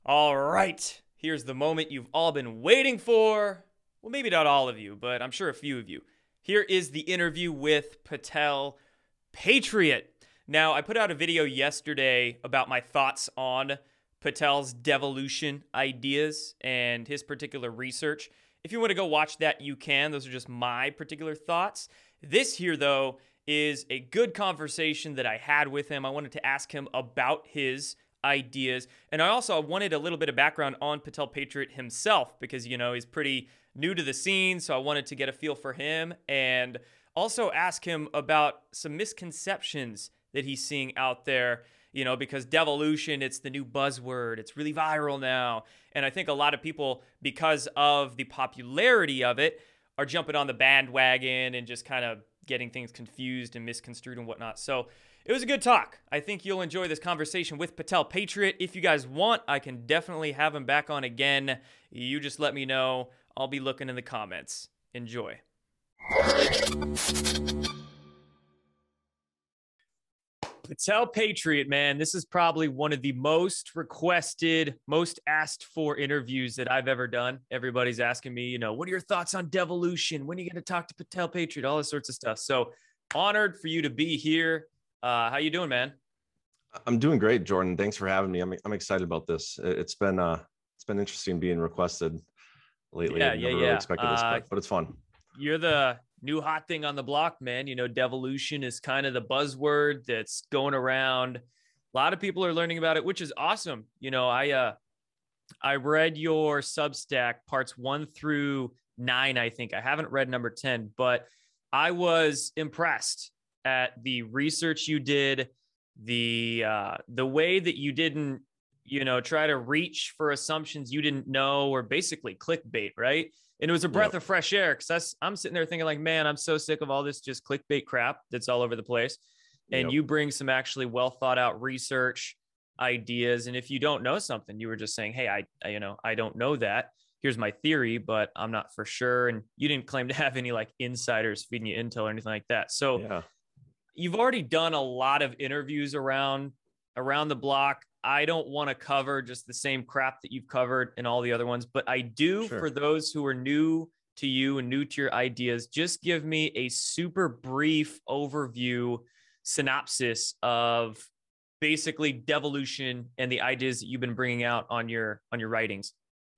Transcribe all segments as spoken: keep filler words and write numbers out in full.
All right, here's the moment you've all been waiting for. Well, maybe not all of you, but I'm sure a few of you. Here is the interview with Patel Patriot. Now, I put out a video yesterday about my thoughts on Patel's devolution ideas and his particular research. If you want to go watch that, you can. Those are just my particular thoughts. This here, though, is a good conversation that I had with him. I wanted to ask him about his ideas. And I also wanted a little bit of background on Patel Patriot himself because, you know, he's pretty new to the scene. So I wanted to get a feel for him and also ask him about some misconceptions that he's seeing out there, you know, because devolution, it's the new buzzword. It's really viral now. And I think a lot of people, because of the popularity of it, are jumping on the bandwagon and just kind of getting things confused and misconstrued and whatnot. So it was a good talk. I think you'll enjoy this conversation with Patel Patriot. If you guys want, I can definitely have him back on again. You just let me know. I'll be looking in the comments. Enjoy. Patel Patriot, man, this is probably one of the most requested, most asked for interviews that I've ever done. Everybody's asking me, you know, what are your thoughts on devolution? When are you going to talk to Patel Patriot? All this sorts of stuff. So honored for you to be here. Uh, how you doing, man? I'm doing great, Jordan. Thanks for having me. I'm I'm excited about this. It's been uh it's been interesting being requested lately. Yeah, I yeah, never yeah. really expected this, Uh, but, but it's fun. You're the new hot thing on the block, man. You know, devolution is kind of the buzzword that's going around. A lot of people are learning about it, which is awesome. You know, I uh I read your Substack parts one through nine, I think. I haven't read number ten, but I was impressed at the research you did, the uh, the way that you didn't, you know, try to reach for assumptions you didn't know, or basically clickbait, right? And it was a breath Yep. of fresh air because I'm sitting there thinking like, man, I'm so sick of all this just clickbait crap that's all over the place. And Yep. you bring some actually well thought out research ideas. And if you don't know something, you were just saying, hey, I, I you know, I don't know that. Here's my theory, but I'm not for sure. And you didn't claim to have any like insiders feeding you intel or anything like that. So Yeah. you've already done a lot of interviews around around the block. I don't want to cover just the same crap that you've covered in all the other ones, but I do, Sure. for those who are new to you and new to your ideas, just give me a super brief overview synopsis of basically devolution and the ideas that you've been bringing out on your on your writings.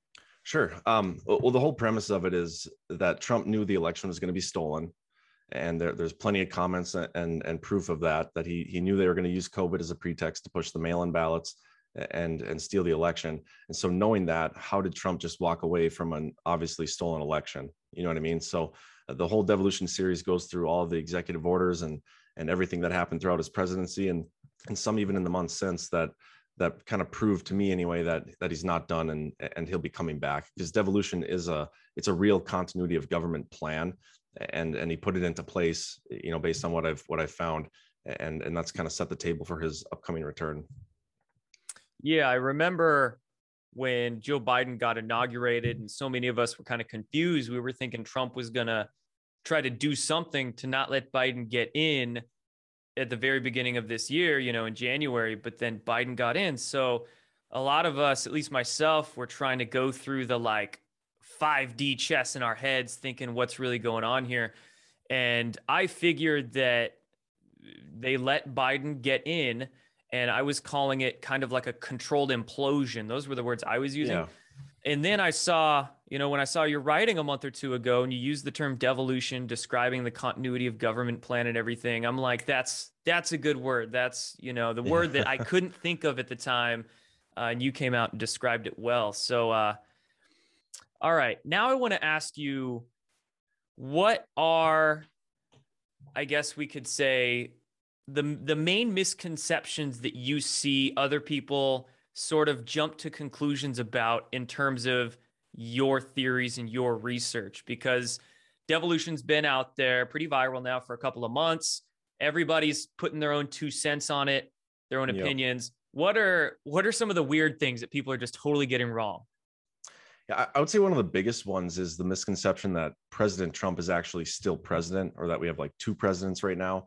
Sure. Um, well, the whole premise of it is that Trump knew the election was going to be stolen. And there, there's plenty of comments and, and proof of that, that he, he knew they were going to use COVID as a pretext to push the mail-in ballots and, and steal the election. And so knowing that, how did Trump just walk away from an obviously stolen election? You know what I mean? So uh, the whole devolution series goes through all of the executive orders and, and everything that happened throughout his presidency, and, and some even in the months since, that that kind of proved to me anyway that that he's not done, and and he'll be coming back, because devolution is a it's a real continuity of government plan, and and he put it into place, you know, based on what I've what I've found, and and that's kind of set the table for his upcoming return. Yeah, I remember when Joe Biden got inaugurated and so many of us were kind of confused. We were thinking Trump was going to try to do something to not let Biden get in at the very beginning of this year, you know, in January, but then Biden got in. So a lot of us, at least myself, were trying to go through the like five D chess in our heads, thinking what's really going on here. And I figured that they let Biden get in, and I was calling it kind of like a controlled implosion. Those were the words I was using. Yeah. And then I saw, you know, when I saw your writing a month or two ago and you used the term devolution, describing the continuity of government plan and everything, I'm like, that's, that's a good word. That's, you know, the word that I couldn't think of at the time. Uh, and you came out and described it well. So, uh, all right, now I want to ask you, what are, I guess we could say, the, the main misconceptions that you see other people sort of jump to conclusions about in terms of your theories and your research? Because devolution's been out there pretty viral now for a couple of months. Everybody's putting their own two cents on it, their own Yep. opinions. What are what are some of the weird things that people are just totally getting wrong? Yeah, I would say one of the biggest ones is the misconception that President Trump is actually still president, or that we have like two presidents right now.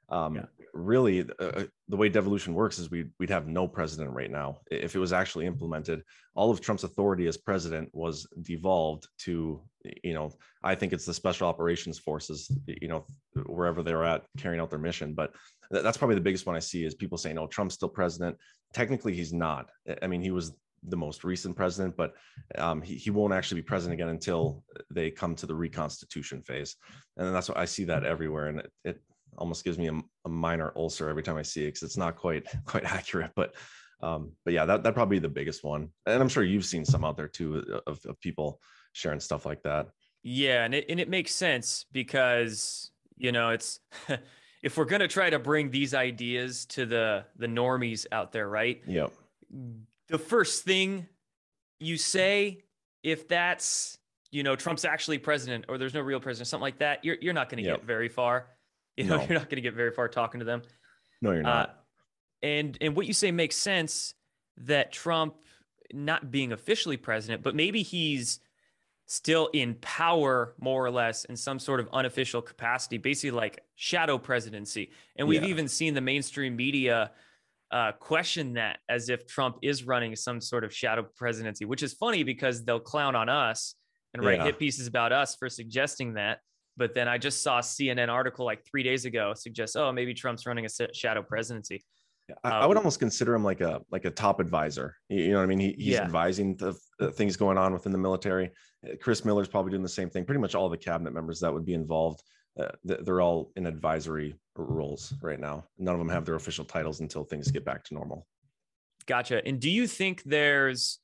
Um, Yeah. Really, uh, the way devolution works is we'd, we'd have no president right now. If it was actually implemented, all of Trump's authority as president was devolved to, you know, I think it's the special operations forces, you know, wherever they're at carrying out their mission. But that's probably the biggest one I see is people saying, oh, Trump's still president. Technically, he's not. I mean, he was the most recent president, but um, he, he won't actually be president again until they come to the reconstitution phase. And then that's what I see that everywhere. And it, it almost gives me a, a minor ulcer every time I see it, because it's not quite quite accurate. But um, but yeah, that that'd probably be the biggest one. And I'm sure you've seen some out there too of, of people sharing stuff like that. Yeah, and it and it makes sense because, you know, it's if we're gonna try to bring these ideas to the the normies out there, right? Yep. The first thing you say, if that's, you know, Trump's actually president or there's no real president, something like that, you're you're not going to Yep. get very far. You know, No. you're not going to get very far talking to them. No, you're not. Uh, and and what you say makes sense, that Trump not being officially president, but maybe he's still in power more or less in some sort of unofficial capacity, basically like shadow presidency. And we've Yeah. even seen the mainstream media uh, question that as if Trump is running some sort of shadow presidency, which is funny because they'll clown on us and write Yeah. hit pieces about us for suggesting that. But then I just saw a C N N article like three days ago suggest, oh, maybe Trump's running a shadow presidency. I, Uh, I would almost consider him like a like a top advisor. You, you know what I mean? He, he's Yeah. advising the, the things going on within the military. Uh, Chris Miller's probably doing the same thing. Pretty much all the cabinet members that would be involved, uh, th- they're all in advisory roles right now. None of them have their official titles until things get back to normal. Gotcha. And do you think there's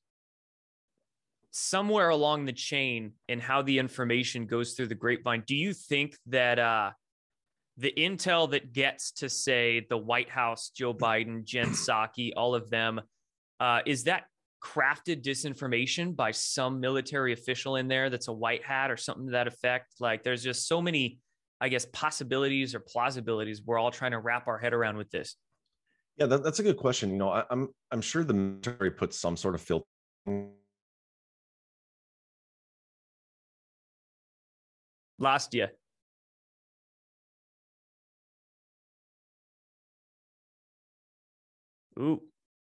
somewhere along the chain in how the information goes through the grapevine, do you think that uh, the intel that gets to, say, the White House, Joe Biden, Jen Psaki, all of them, uh, is that crafted disinformation by some military official in there that's a white hat or something to that effect? Like, there's just so many, I guess, possibilities or plausibilities we're all trying to wrap our head around with this. Yeah, that, that's a good question. You know, I, I'm I'm sure the military puts some sort of filter. Lost you. Ooh.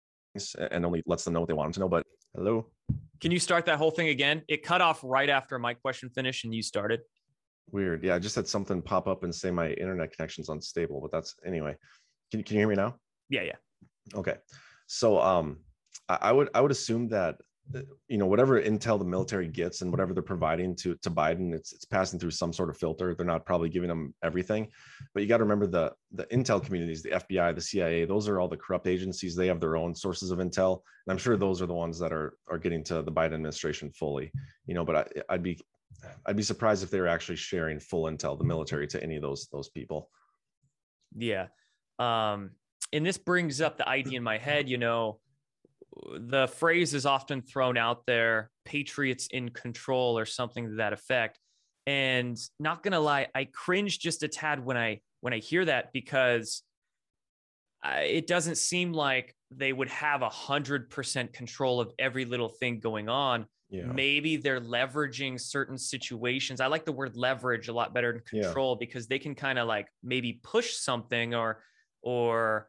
And only lets them know what they want them to know. But hello. Can you start that whole thing again? It cut off right after my question finished and you started. Weird. Yeah, I just had something pop up and say my internet connection's unstable, but that's anyway. Can, can you hear me now? Yeah, yeah. Okay. So um I, I would I would assume that you know whatever intel the military gets and whatever they're providing to to Biden, it's it's passing through some sort of filter. They're not probably giving them everything, but you got to remember the the intel communities, the F B I, the C I A, those are all the corrupt agencies. They have their own sources of intel, and I'm sure those are the ones that are are getting to the Biden administration fully. You know, but I, I'd be I'd be surprised if they were actually sharing full intel, the military, to any of those those people. Yeah. Um, and this brings up the idea in my head, you know, the phrase is often thrown out there, Patriots in control or something to that effect. And not going to lie, I cringe just a tad when I when I hear that, because I, it doesn't seem like they would have a hundred percent control of every little thing going on. Yeah. Maybe they're leveraging certain situations. I like the word leverage a lot better than control, yeah, because they can kind of like maybe push something or or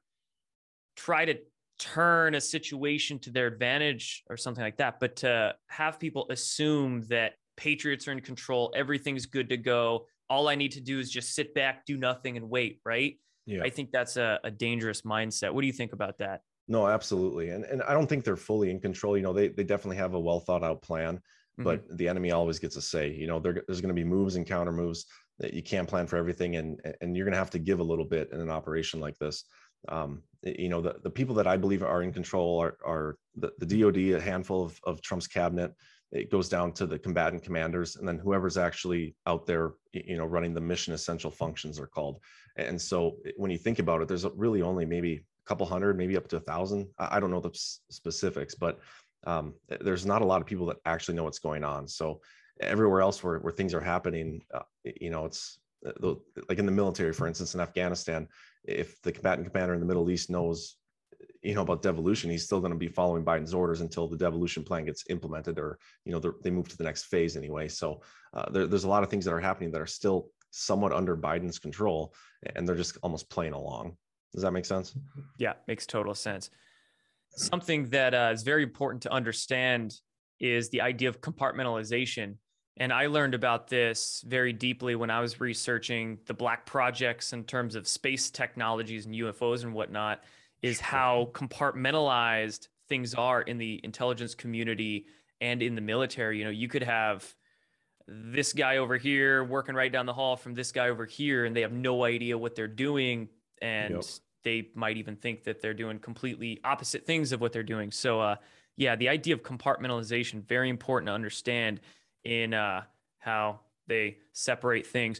try to turn a situation to their advantage or something like that. But to have people assume that Patriots are in control, everything's good to go, all I need to do is just sit back, do nothing, and wait, right? Yeah. I think that's a, a dangerous mindset. What do you think about that? No, absolutely. And and I don't think they're fully in control. You know, they they definitely have a well thought out plan, but mm-hmm. the enemy always gets a say. You know, there, there's going to be moves and counter moves that you can't plan for everything. And, and you're going to have to give a little bit in an operation like this. Um, you know, the, the people that I believe are in control are, are the, the D O D, a handful of, of Trump's cabinet. It goes down to the combatant commanders, and then whoever's actually out there, you know, running the mission essential functions are called. And so when you think about it, there's really only maybe a couple hundred, maybe up to a thousand. I don't know the specifics, but um, there's not a lot of people that actually know what's going on. So everywhere else where, where things are happening, uh, you know, it's uh, like in the military, for instance, in Afghanistan, if the combatant commander in the Middle East knows, you know, about devolution, he's still going to be following Biden's orders until the devolution plan gets implemented, or, you know, they move to the next phase anyway. So uh, there, there's a lot of things that are happening that are still somewhat under Biden's control, and they're just almost playing along. Does that make sense? Yeah, makes total sense. Something that uh, is very important to understand is the idea of compartmentalization. And I learned about this very deeply when I was researching the Black projects in terms of space technologies and U F Os and whatnot, is how compartmentalized things are in the intelligence community and in the military. You know, you could have this guy over here working right down the hall from this guy over here, and they have no idea what they're doing. And yep. they might even think that they're doing completely opposite things of what they're doing. So, uh, yeah, the idea of compartmentalization, very important to understand in uh, how they separate things.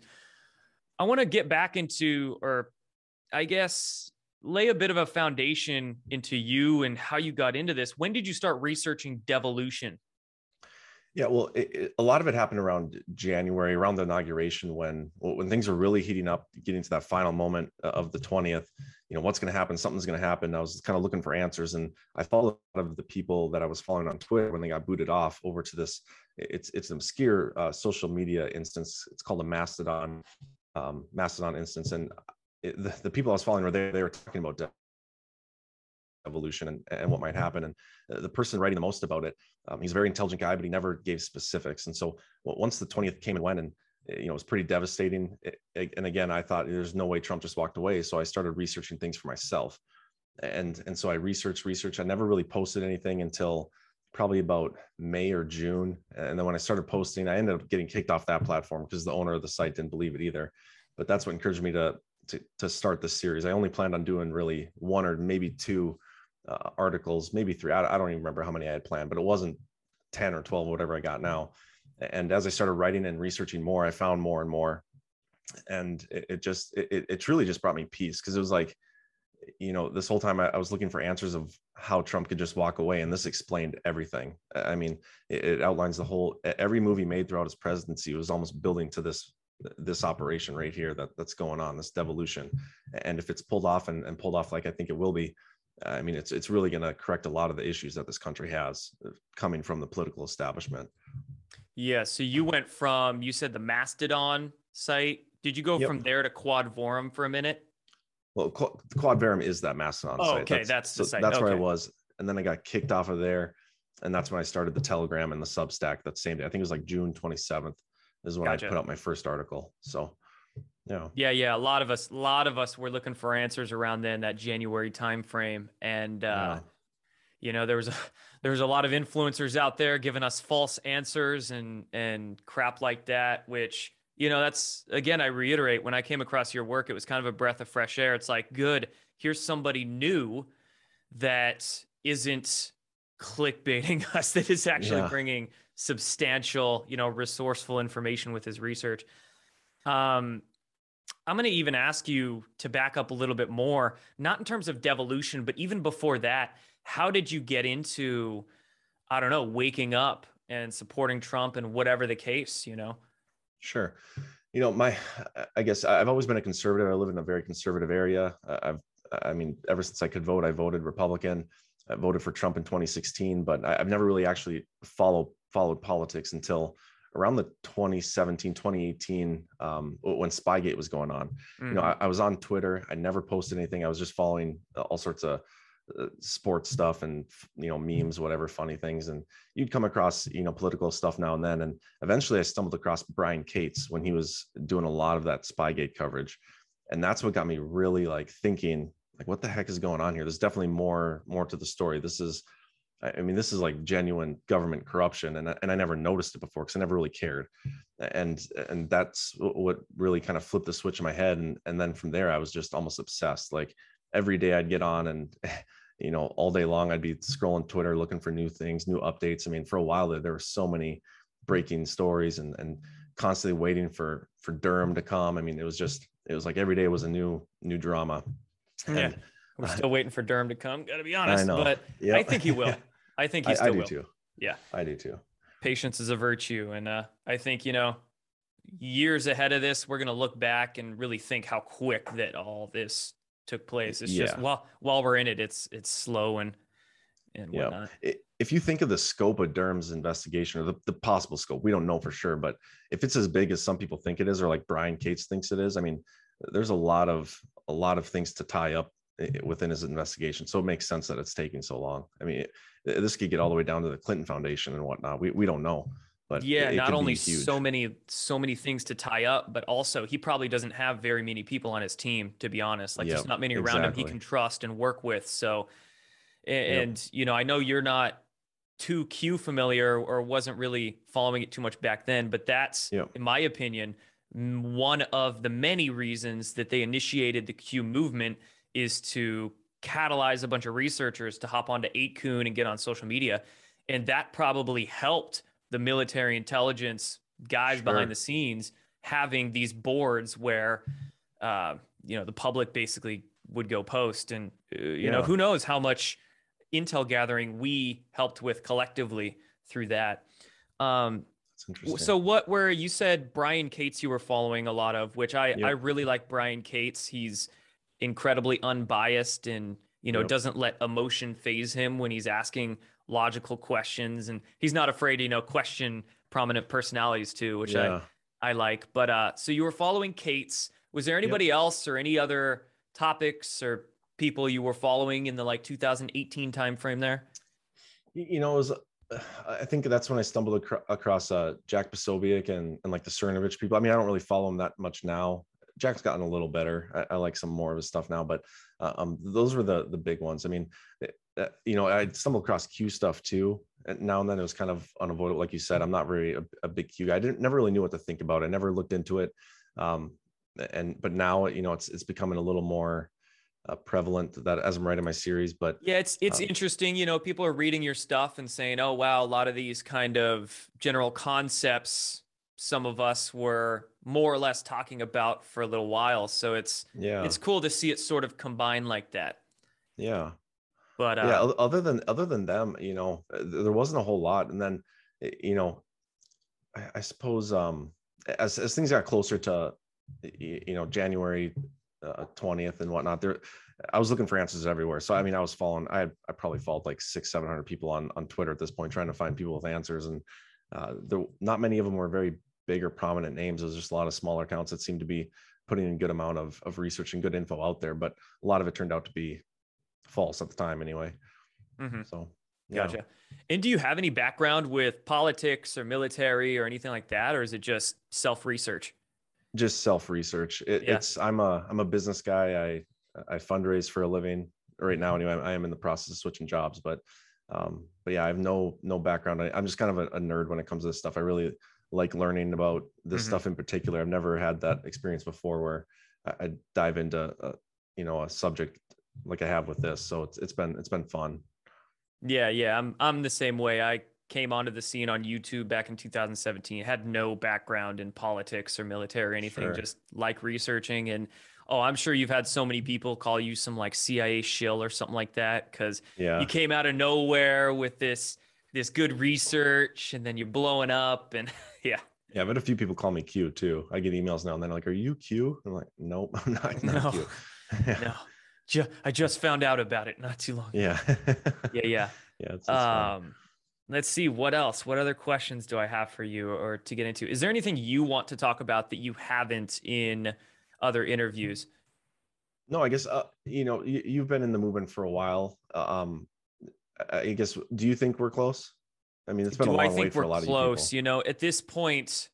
I want to get back into, or I guess, lay a bit of a foundation into you and how you got into this. When did you start researching devolution? Yeah, well, it, it, a lot of it happened around January, around the inauguration, when when things were really heating up, getting to that final moment of the twentieth. You know, what's going to happen? Something's going to happen. I was kind of looking for answers, and I followed a lot of the people that I was following on Twitter when they got booted off over to this. It's it's an obscure uh, social media instance. It's called a Mastodon um, Mastodon instance, and it, the, the people I was following were there. They were talking about evolution and, and what might happen. And the person writing the most about it, um, he's a very intelligent guy, but he never gave specifics. And so well, once the twentieth came and went, and you know, it was pretty devastating. It, and again, I thought there's no way Trump just walked away. So I started researching things for myself. And, and so I researched, research. I never really posted anything until probably about May or June. And then when I started posting, I ended up getting kicked off that platform because the owner of the site didn't believe it either. But that's what encouraged me to, to, to start this series. I only planned on doing really one or maybe two uh, articles, maybe three. I, I don't even remember how many I had planned, but it wasn't ten or twelve, whatever I got now. And as I started writing and researching more, I found more and more. And it, it just, it, it truly just brought me peace, because it was like, you know, this whole time I, I was looking for answers of how Trump could just walk away. And this explained everything. I mean, it, it outlines the whole, every movie made throughout his presidency was almost building to this, this operation right here that that's going on, this devolution. And if it's pulled off and, and pulled off, like I think it will be, I mean, it's, it's really going to correct a lot of the issues that this country has coming from the political establishment. Yeah. So you went from, you said the Mastodon site. Did you go yep. from there to Quadvorum for a minute? Well, Quadvorum is that Mastodon oh, site. Okay, that's, that's the so site. That's okay. where I was. And then I got kicked off of there. And that's when I started the Telegram and the Substack that same day. I think it was like June twenty-seventh is when gotcha. I put out my first article. So, yeah. Yeah, yeah. A lot of us, a lot of us were looking for answers around then, that January timeframe. And, uh, yeah. you know, there was a, there was a lot of influencers out there giving us false answers and, and crap like that, which, you know, that's, again, I reiterate, when I came across your work, it was kind of a breath of fresh air. It's like, good, here's somebody new that isn't clickbaiting us, that is actually yeah. bringing substantial, you know, resourceful information with his research. Um, I'm going to even ask you to back up a little bit more, not in terms of devolution, but even before that, how did you get into, I don't know, waking up and supporting Trump and whatever the case, you know? Sure. You know, my, I guess I've always been a conservative. I live in a very conservative area. I've, I mean, ever since I could vote, I voted Republican. I voted for Trump in twenty sixteen, but I've never really actually followed, followed politics until around the twenty seventeen, twenty eighteen, um, when Spygate was going on. Mm-hmm. You know, I, I was on Twitter. I never posted anything. I was just following all sorts of uh, sports stuff and, you know, memes, whatever, funny things. And you'd come across, you know, political stuff now and then. And eventually I stumbled across Brian Cates when he was doing a lot of that Spygate coverage. And that's what got me really like thinking, like, what the heck is going on here? There's definitely more, more to the story. This is, I mean, this is like genuine government corruption. And, and I never noticed it before because I never really cared. And, and that's what really kind of flipped the switch in my head. And, and then from there, I was just almost obsessed. Like every day I'd get on and, you know, all day long, I'd be scrolling Twitter, looking for new things, new updates. I mean, for a while there, there were so many breaking stories and, and constantly waiting for, for Durham to come. I mean, it was just, it was like every day was a new, new drama. And, yeah. We're still waiting for Durham to come. Got to be honest, but yep. I think he will. I think he still I, I do will. Too. Yeah, I do too. Patience is a virtue. And uh, I think, you know, years ahead of this, we're going to look back and really think how quick that all this took place. It's yeah. just while, while we're in it, it's, it's slow and and Yeah. whatnot. If you think of the scope of Durham's investigation, or the, the possible scope, we don't know for sure, but if it's as big as some people think it is, or like Brian Cates thinks it is, I mean, there's a lot of a lot of things to tie up within his investigation. So it makes sense that it's taking so long. I mean, it, this could get all the way down to the Clinton Foundation and whatnot. We we don't know, but Yeah, it, it not could only be huge. so many so many things to tie up, but also he probably doesn't have very many people on his team, to be honest. Like Yep, there's not many around him he exactly. can trust and work with. So, and, Yep. and you know, I know you're not too Q familiar or wasn't really following it too much back then, but that's, Yep. in my opinion, m- one of the many reasons that they initiated the Q movement is to catalyze a bunch of researchers to hop onto eight kun and get on social media. And that probably helped the military intelligence guys Sure. behind the scenes having these boards where, uh, you know, the public basically would go post. And, uh, you Yeah. know, who knows how much intel gathering we helped with collectively through that. Um, That's interesting. so what, where you said Brian Cates you were following a lot of, which I, Yep. I really like Brian Cates. He's incredibly unbiased and, you know, Yep. doesn't let emotion phase him when he's asking logical questions. And he's not afraid to, you know, question prominent personalities too, which Yeah. I, I like. But uh, so you were following Cates. Was there anybody Yep. else or any other topics or people you were following in the like two thousand eighteen timeframe there? You you know, it was, uh, I think that's when I stumbled acro- across uh, Jack Posobiec and, and like the Cernovich people. I mean, I don't really follow him that much now. Jack's gotten a little better. I, I like some more of his stuff now, but uh, um, those were the the big ones. I mean, uh, you know, I stumbled across Q stuff too. And now and then it was kind of unavoidable. Like you said, I'm not very a, a big Q guy. I didn't never really knew what to think about it. I never looked into it. Um, and but now, you know, it's it's becoming a little more uh, prevalent that as I'm writing my series. But yeah, it's it's um, interesting. You know, people are reading your stuff and saying, "Oh, wow, a lot of these kind of general concepts, some of us were more or less talking about for a little while." So it's yeah, it's cool to see it sort of combine like that. yeah. But Yeah, uh, oth- other than other than them, you know, uh, there wasn't a whole lot. And then, eh, you know, I, I suppose um, as as things got closer to, y- you know, January uh, twentieth and whatnot, there, I was looking for answers everywhere. So I mean, I was following. I I probably followed like six, seven hundred people on on Twitter at this point, trying to find people with answers, and uh, there not many of them were very big or prominent names. It was just a lot of smaller accounts that seemed to be putting in good amount of of research and good info out there, but a lot of it turned out to be false at the time anyway. mhm, So yeah. gotcha. And do you have any background with politics or military or anything like that, or is it just self research? Just self research. It, Yeah. it's I'm a I'm a business guy. I I fundraise for a living right now. Anyway, I am in the process of switching jobs, but um, but yeah, I have no no background. I, I'm just kind of a, a nerd when it comes to this stuff. I really like learning about this Mhm. stuff in particular. I've never had that experience before where I, I dive into a, you know a subject like I have with this. So it's it's been it's been fun. Yeah, yeah, I'm I'm the same way. I came onto the scene on YouTube back in two thousand seventeen. Had no background in politics or military or anything, Sure. just like researching. And oh, I'm sure you've had so many people call you some like C I A shill or something like that because you Yeah. came out of nowhere with this this good research and then you're blowing up and yeah. Yeah, I've had a few people call me Q too. I get emails now and then like, "Are you Q?" I'm like, "Nope, I'm not not No, Q." Yeah. no. Ju- I just found out about it not too long ago. Yeah. Yeah, yeah. Yeah, it's, it's fun. Um, let's see what else. What other questions do I have for you or to get into? Is there anything you want to talk about that you haven't in other interviews? No, I guess uh, you know you, you've been in the movement for a while. Uh, Um, I I guess, do you think we're close? I mean, it's been a Do I long wait think for we're a lot of you people. close? You know, at this point,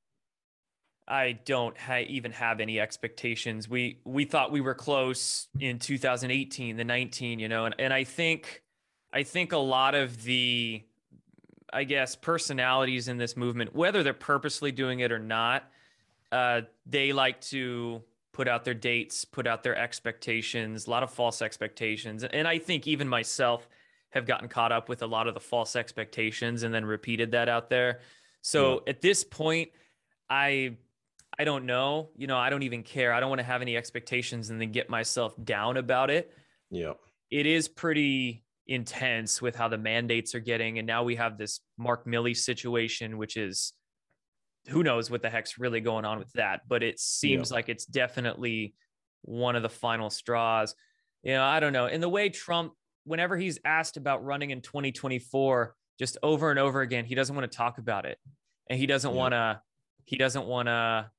I don't ha- even have any expectations. We we thought we were close in two thousand eighteen, the nineteen, you know, and, and I think I think a lot of the I guess personalities in this movement, whether they're purposely doing it or not, uh, they like to put out their dates, put out their expectations, a lot of false expectations. And I think even myself have gotten caught up with a lot of the false expectations and then repeated that out there. Yeah, So at this point, I I don't know. You know, I don't even care. I don't want to have any expectations and then get myself down about it. yeah, It is pretty intense with how the mandates are getting. And now we have this Mark Milley situation, which is who knows what the heck's really going on with that. But it yeah, seems like it's definitely one of the final straws. You know, I don't know. And the way Trump whenever he's asked about running in twenty twenty-four, just over and over again, he doesn't want to talk about it. And he doesn't Yeah. want to, he doesn't want to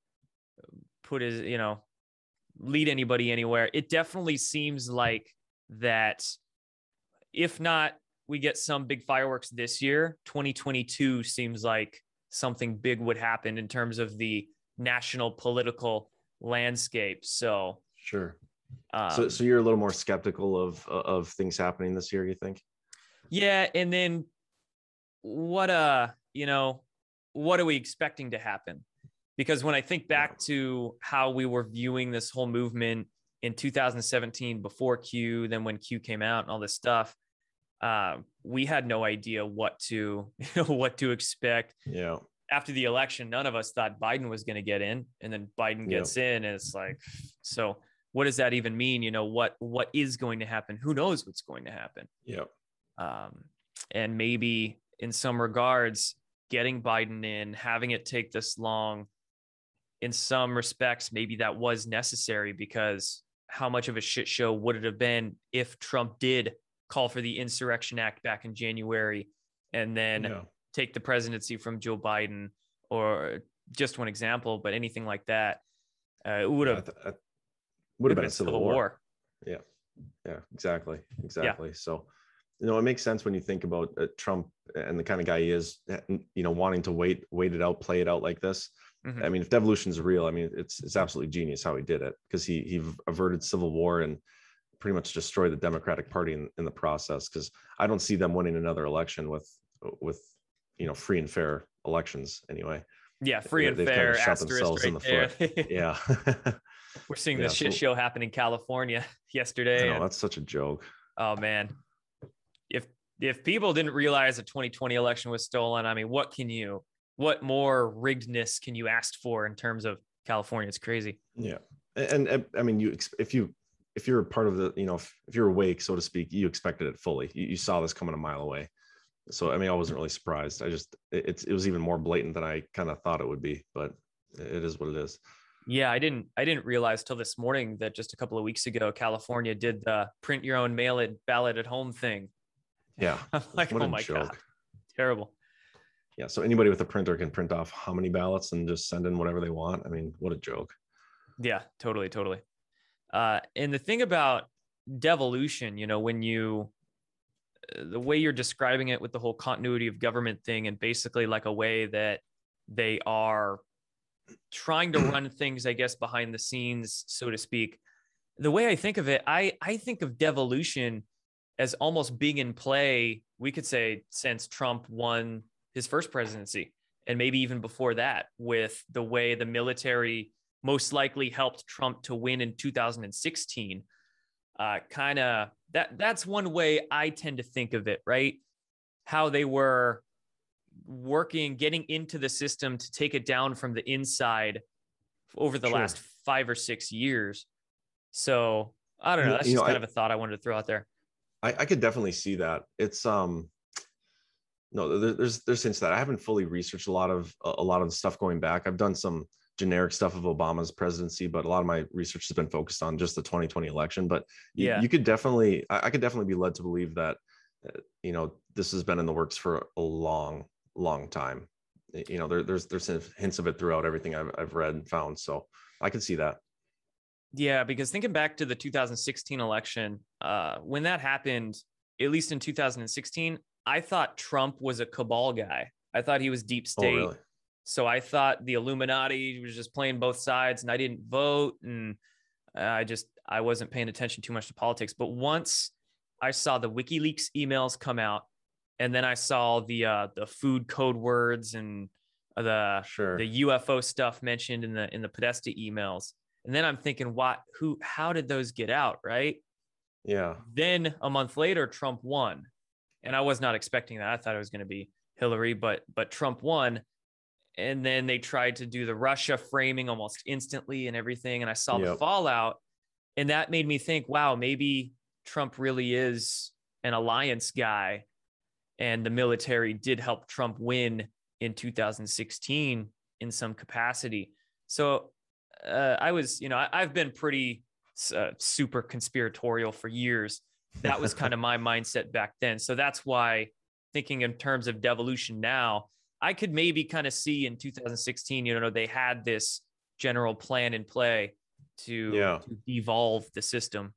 put his, you know, lead anybody anywhere. It definitely seems like that if not, we get some big fireworks this year, twenty twenty-two seems like something big would happen in terms of the national political landscape. So Sure. um, so, so you're a little more skeptical of of things happening this year, you think? yeah. And then what, uh, you know, what are we expecting to happen? Because when I think back to how we were viewing this whole movement in two thousand seventeen before Q, then when Q came out and all this stuff, uh, we had no idea what to, you know, what to expect. Yeah. After the election, none of us thought Biden was going to get in, and then Biden gets yeah. in, and it's like, so what does that even mean? You know, what what is going to happen? Who knows what's going to happen? Yeah. Um, and maybe in some regards, getting Biden in, having it take this long, in some respects, maybe that was necessary, because how much of a shit show would it have been if Trump did call for the Insurrection Act back in January and then yeah. take the presidency from Joe Biden, or just one example, but anything like that, uh, it would have yeah, would have been, been a civil, civil war. war. Yeah, yeah, exactly, exactly. Yeah. So, you know, it makes sense when you think about uh, Trump and the kind of guy he is, you know, wanting to wait, wait it out, play it out like this. Mm-hmm. I mean, if devolution is real, I mean, it's it's absolutely genius how he did it, because he he averted civil war and pretty much destroyed the Democratic Party in, in the process. Because I don't see them winning another election with with you know free and fair elections anyway. Yeah, free and They've fair. Kind of shot themselves right in the there. foot. Yeah, we're seeing yeah, the shit so, show happen in California yesterday. I know, and, that's such a joke. Oh man, if if people didn't realize the twenty twenty election was stolen, I mean, what can you? What more riggedness can you ask for in terms of California? It's crazy. Yeah. And, and I mean, you, if you, if you're a part of the, you know, if, if you're awake, so to speak, you expected it fully. You, you saw this coming a mile away. So, I mean, I wasn't really surprised. I just, it, it's, it was even more blatant than I kind of thought it would be, but it is what it is. Yeah. I didn't, I didn't realize till this morning that just a couple of weeks ago, California did the print your own mail it ballot at home thing. Yeah. I'm like, what oh a my joke. God, terrible. Yeah, so anybody with a printer can print off how many ballots and just send in whatever they want. I mean, what a joke. Yeah, totally, totally. Uh, and the thing about devolution, you know, when you, the way you're describing it with the whole continuity of government thing, and basically like a way that they are trying to run things, I guess, behind the scenes, so to speak. The way I think of it, I, I think of devolution as almost being in play, we could say, since Trump won his first presidency, and maybe even before that, with the way the military most likely helped Trump to win in two thousand sixteen. Uh, kind of that that's one way I tend to think of it, right? How they were working, getting into the system to take it down from the inside over the sure. last five or six years. So I don't know. That's you just know, kind I, of a thought I wanted to throw out there. I, I could definitely see that. It's um no, there's there's since that I haven't fully researched a lot of a lot of the stuff going back. I've done some generic stuff of Obama's presidency, but a lot of my research has been focused on just the twenty twenty election. But you, yeah, you could definitely, I, I could definitely be led to believe that, uh, you know, this has been in the works for a long, long time. You know, there, there's there's hints of it throughout everything I've I've read and found. So I could see that. Yeah, because thinking back to the two thousand sixteen election, uh, when that happened, at least in two thousand sixteen. I thought Trump was a cabal guy. I thought he was deep state. Oh, really? So I thought the Illuminati was just playing both sides, and I didn't vote. And I just, I wasn't paying attention too much to politics. But once I saw the WikiLeaks emails come out, and then I saw the, uh, the food code words and the, sure. the U F O stuff mentioned in the, in the Podesta emails. And then I'm thinking, what, who, how did those get out? Right. Yeah. Then a month later, Trump won. And I was not expecting that. I thought it was going to be Hillary, but but Trump won. And then they tried to do the Russia framing almost instantly and everything. And I saw yep. the fallout. And that made me think, wow, maybe Trump really is an alliance guy. And the military did help Trump win in two thousand sixteen in some capacity. So uh, I was, you know, I, I've been pretty uh, super conspiratorial for years. That was kind of my mindset back then. So that's why, thinking in terms of devolution now, I could maybe kind of see in two thousand sixteen, you know, they had this general plan in play to, Yeah. to devolve the system.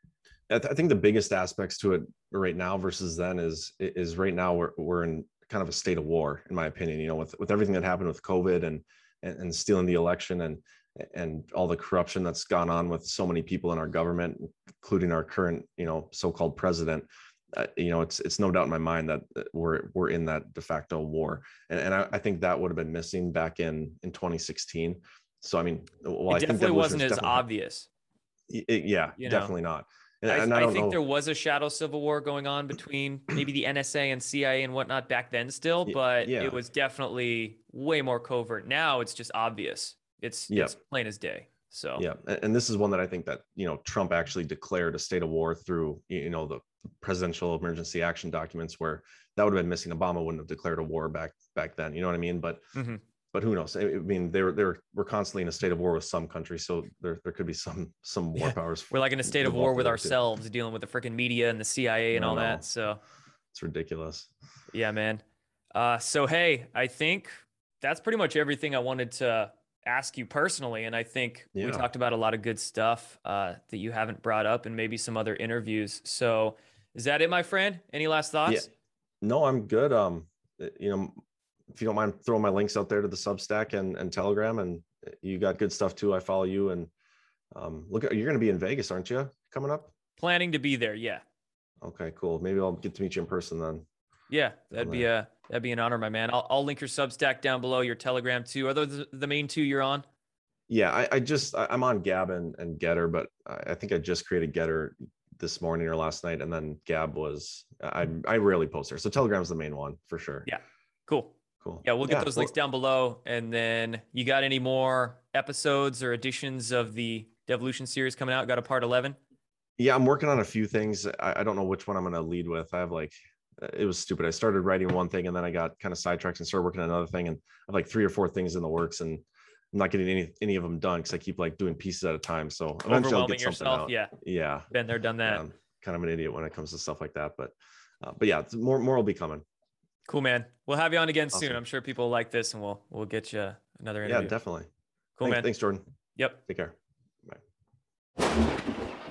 I, th- I think the biggest aspects to it right now versus then is is right now we're we're in kind of a state of war, in my opinion. You know, with with everything that happened with COVID and and, and stealing the election and and all the corruption that's gone on with so many people in our government, including our current, you know, so-called president. Uh, you know, it's it's no doubt in my mind that we're we're in that de facto war, and and I, I think that would have been missing back in in twenty sixteen. So I mean, well, It I think definitely wasn't as definitely obvious. It, yeah, You know? definitely not. And, I, and I I don't think know. there was a shadow civil war going on between maybe the N S A and C I A and whatnot back then still, but Yeah. it was definitely way more covert. Now it's just obvious. It's Yeah. it's plain as day. So Yeah, and, and this is one that I think that, you know, Trump actually declared a state of war through, you know, the presidential emergency action documents, where that would have been missing. Obama wouldn't have declared a war back back then. You know what I mean? But mhm. but who knows? I mean, they were they were we're constantly in a state of war with some countries, so there there could be some some war Yeah. powers. We're like in a state of war involved with there too. ourselves, dealing with the freaking media and the C I A and I all know. that. So It's ridiculous. yeah, man. Uh, so hey, I think that's pretty much everything I wanted to ask you personally, and I think we Yeah. talked about a lot of good stuff uh, that you haven't brought up, and maybe some other interviews. So is that it, my friend? Any last thoughts? Yeah. No, I'm good. Um, you know, if you don't mind throwing my links out there to the Substack and, and Telegram, and you got good stuff too. I follow you, and um, look, you're going to be in Vegas, aren't you, coming up? Planning to be there, yeah. Okay, cool. Maybe I'll get to meet you in person then. Yeah, that'd be a that'd be an honor, my man. I'll I'll link your Substack down below, your Telegram too. Are those the main two you're on? Yeah, I, I just I, I'm on Gab and, and Getter, but I, I think I just created Getter this morning or last night, and then Gab was I I rarely post there. So Telegram's the main one for sure. Yeah, cool. Cool. Yeah, we'll get Yeah, those well- links down below. And then you got any more episodes or editions of the Devolution series coming out? Got a part eleven? Yeah, I'm working on a few things. I, I don't know which one I'm going to lead with. I have like, it was stupid. I started writing one thing and then I got kind of sidetracked and started working on another thing. And I have like three or four things in the works, and I'm not getting any any of them done because I keep like doing pieces at a time. So eventually I'll Overwhelming get something yourself. out. Yeah, Yeah. been there, done that. Yeah, I'm kind of an idiot when it comes to stuff like that. But uh, but yeah, more more will be coming. Cool, man. We'll have you on again soon. Awesome. I'm sure people like this, and we'll we'll get you another Yeah, interview. definitely. Cool, thanks, man. Thanks, Jordan. Yep. Take care. Bye.